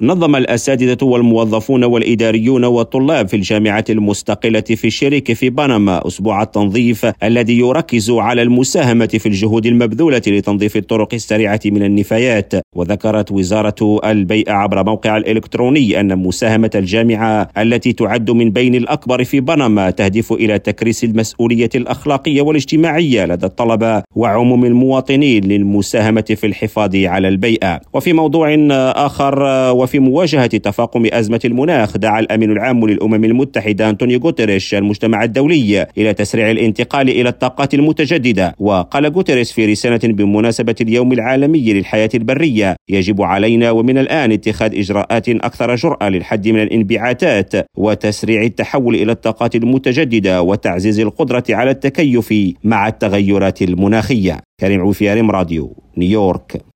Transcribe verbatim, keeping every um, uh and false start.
نظم الأساتذة والموظفون والإداريون والطلاب في الجامعة المستقلة في الشريك في بنما أسبوع التنظيف الذي يركز على المساهمة في الجهود المبذولة لتنظيف الطرق السريعة من النفايات. وذكرت وزارة البيئة عبر موقع الإلكتروني أن مساهمة الجامعة التي تعد من بين الأكبر في بنما تهدف إلى تكريس المسؤولية الأخلاقية والاجتماعية لدى الطلبة وعموم المواطنين للمساهمة في الحفاظ على البيئة. وفي موضوع آخر، وفي مواجهة تفاقم أزمة المناخ، دعا الأمين العام للأمم المتحدة أنطونيو غوتيريش المجتمع الدولي إلى تسريع الانتقال إلى الطاقات المتجددة. وقال غوتيريش في رسالة بمناسبة اليوم العالمي للحياة البرية: يجب علينا ومن الآن اتخاذ إجراءات أكثر جرأة للحد من الانبعاثات وتسريع التحول إلى الطاقات المتجددة وتعزيز القدرة على التكيف مع التغيرات المناخية. كريم عوفي، راديو نيويورك.